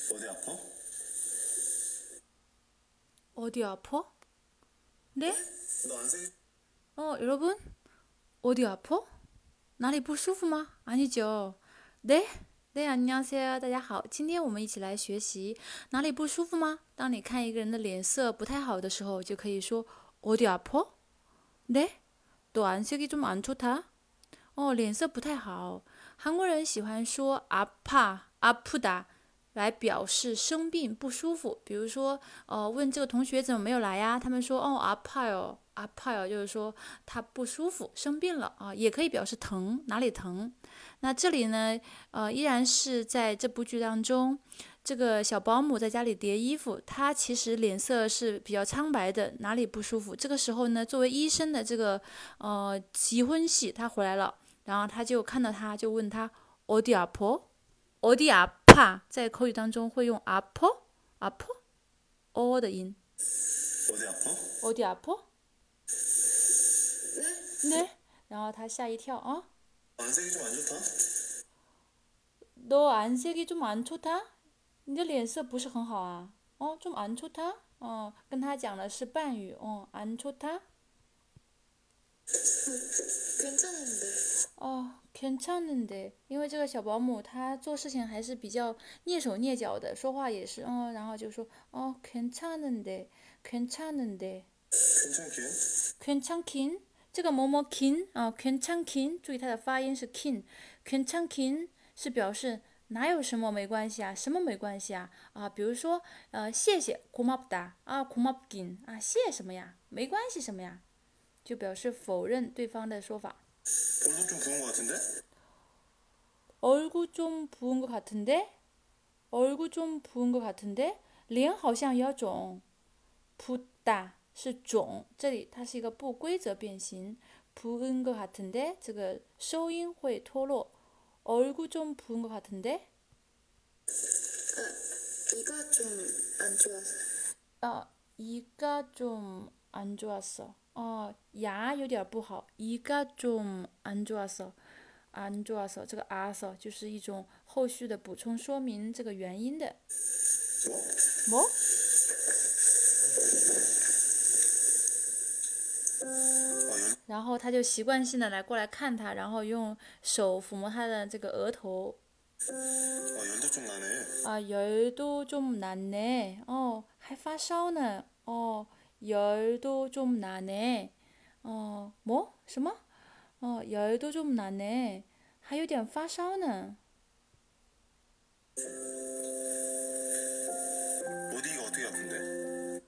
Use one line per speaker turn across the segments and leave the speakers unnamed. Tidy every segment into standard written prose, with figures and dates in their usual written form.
어디 아파?
어디 아파? 네?
너 안색이
여러분? 어디 아파?哪里不舒服吗？ 아니죠. 네? 네, 안녕하세요. 大家好，今天我们一起来学习哪里不舒服吗？当你看一个人的脸色不太好的时候，就可以说어디 아파? 네? 너 안색이 좀 안 좋다? 脸色不太好。韩国人喜欢说아프다来表示生病不舒服。比如说，问这个同学怎么没有来呀？他们说아파요，就是说他不舒服，生病了啊，也可以表示疼，哪里疼。那这里呢，依然是在这部剧当中，这个小保姆在家里叠衣服，她其实脸色是比较苍白的，哪里不舒服？这个时候呢，作为医生的这个结婚戏，他回来了。然后他就看到他，就问他어디 아파？어디 아파？在口语当中会用아파的音。
어디 아파?
어디 아파？네？然后他吓一跳啊，
안색이 좀 안 좋다?
너 안색이 좀 안 좋다？你的脸色不是很好啊。좀 안 좋다？跟他讲的是伴语，안 좋다？ 괜찮은데， 因为这个小保姆她做事情还是比较蹑手蹑脚的，说话也是，然后就说괜찮은데， 괜찮긴， 这个뭐뭐긴 괜찮긴， 注意它的发音是kin， 괜찮긴是表示哪有什么没关系啊，什么没关系啊比如说谢谢고맙다 고맙긴谢什么呀，没关系什么呀，就表示否认对方的说法。
얼굴 좀 부은 것 같은데?
얼굴 좀 부은 것 같은데？ 脸好像有肿。붓다是肿，这里它是一个不规则变形。부은 것 같은데这个收音会脱落。얼굴 좀 부은 것 같은데？
이가 좀 안 좋아서.
이가 좀 안 좋았어. 牙有点不好。이가 좀 안 좋았어。 안 좋아서这个아서就是一种后续的补充说明这个原因的。뭐？然后他就习惯性的过来看他，然后用手抚摸他的这个额头。
열도 좀 나네.
열도 좀 나네. 还发烧呢。열도 좀 나네. 뭐？什么？열도 좀 나네. 还有点发烧呢。
어디가 어떻게 아픈데?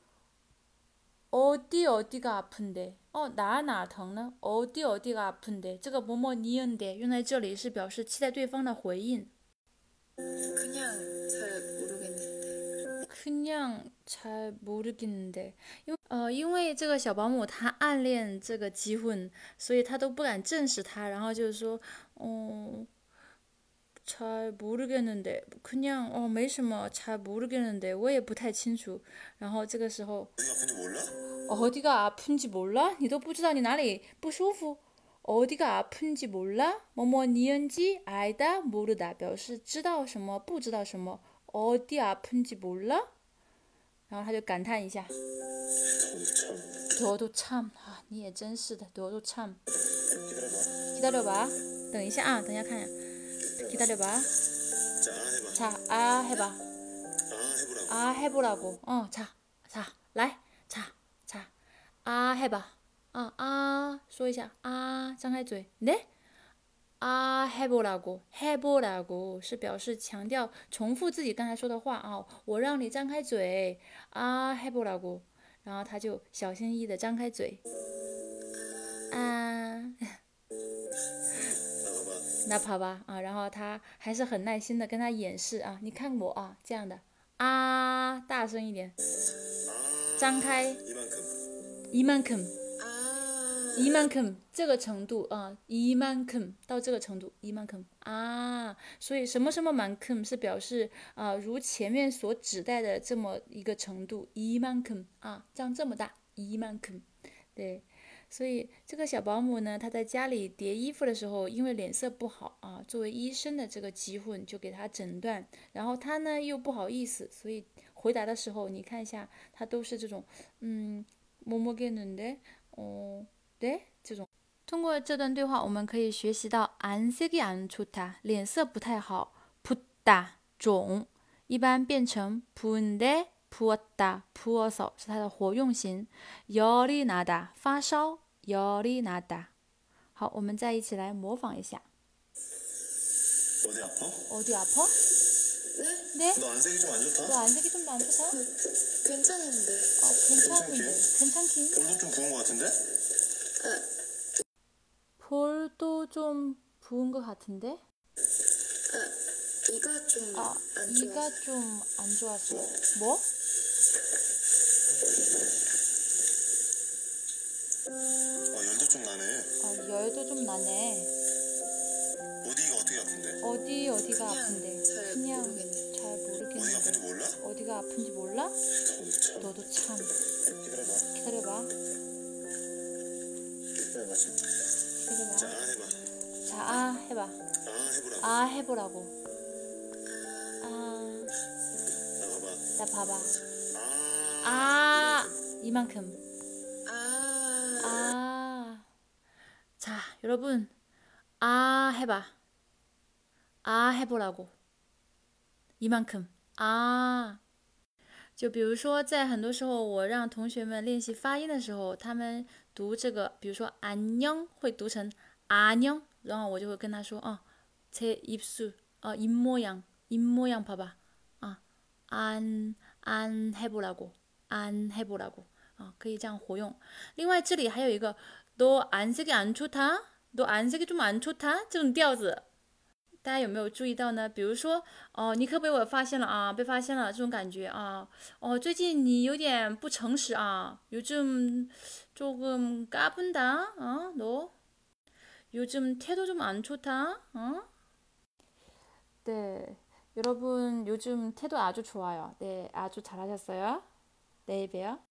어디가 아픈데? 哪疼呢？ 어디가 아픈데? 这个뭐뭐 니은데用在这里是表示期待对方的回应。
그냥 잘 모르겠는데.
그냥 잘 모르겠는데. 因为这个小保姆她暗恋这个吉混，所以她都不敢正视他，然后就是说，잘 모르겠는데 그냥没什么잘 모르겠는데我也不太清楚。然后这个时候
어디가 아픈지 몰라?
어디가 아픈지 몰라? 你都不知道你哪里不舒服。 어디가 아픈지 몰라? 뭐뭐 니은지 알다 모르다 表示知道什么不知道什么。 어디 아픈지 몰라? 然后他就感叹一下 너도 참你也真是的 너도 참 기다려봐 等一下啊，等一下看 기다려봐.
자,
해봐.
해보라고.
해보라고. 자, 来, 해봐. 说一下 张开嘴 네? 해보라고 是表示强调重复自己刚才说的话我让你张开嘴해보라고 然后他就小心翼翼的张开嘴那봐봐然后他还是很耐心的跟他演示你看我这样的大声一点张开이만큼这个程度이만큼到这个程度이만큼所以什么什么만큼是表示如前面所指代的这么一个程度이만큼张这么大이만큼对
所以这个小保姆呢，她在家里叠衣服的时候，因为脸色不好啊，作为医生的这个机会就给她诊断，然后她呢又不好意思，所以回答的时候，你看一下，她都是这种뭐뭐겠는데 네这种。通过这段对话，我们可以学习到안색이 안 좋다，脸色不太好，붓다肿，一般变成부은데 부었다 부어서是它的活用型。열이 나다发烧，열이 나다。好，我们再一起来模仿一下。
어디 아파?
어디 아파?
네?
네?
너 안색이 좀 안 좋다?
너 안색이 좀 안 좋다?
괜찮은데.
괜찮긴.
볼도 좀 부은 것 같은데?
볼도 좀 부은 것 같은데?
이가 좀
아,
안 좋아.
이가 좀 안 좋았어. 뭐?
열도 좀 나네.
열도 좀 나네.
어디가 어떻게 아픈데?
어디가
그냥
아픈데?
잘
그냥
모르겠네.
잘
어디가 아픈지
모르겠는데.
몰라?
어디가 아픈지 몰라?
너도 참.
너도 참.
기다려봐.
기다려봐.
기다려봐.
기다려봐.
자, 해봐.
자, 해봐.
해보라고.
해보라고.
나봐봐.
나 봐봐.
아.
이만큼. 자, 여러분. 해봐. 해보라고. 이만큼. 就比如说在很多时候我让同学们练习发音的时候，他们读这个比如说안녕会读成안녕，然后我就会跟他说제 입술 입모양 봐봐 안 해보라고 안 해보라고 可以这样活用。另外这里还有一个너 안색이 안 좋다 너 안색이 좀 안 좋다这种调子，大家有没有注意到呢？比如说你可被我发现了被发现了这种感觉最近你有点不诚实요즘 조금 까분다 너 요즘 태도 좀 안 좋다 네, 여러분 요즘 태도 아주 좋아요. 네, 아주 잘하셨어요. 내일 봬요.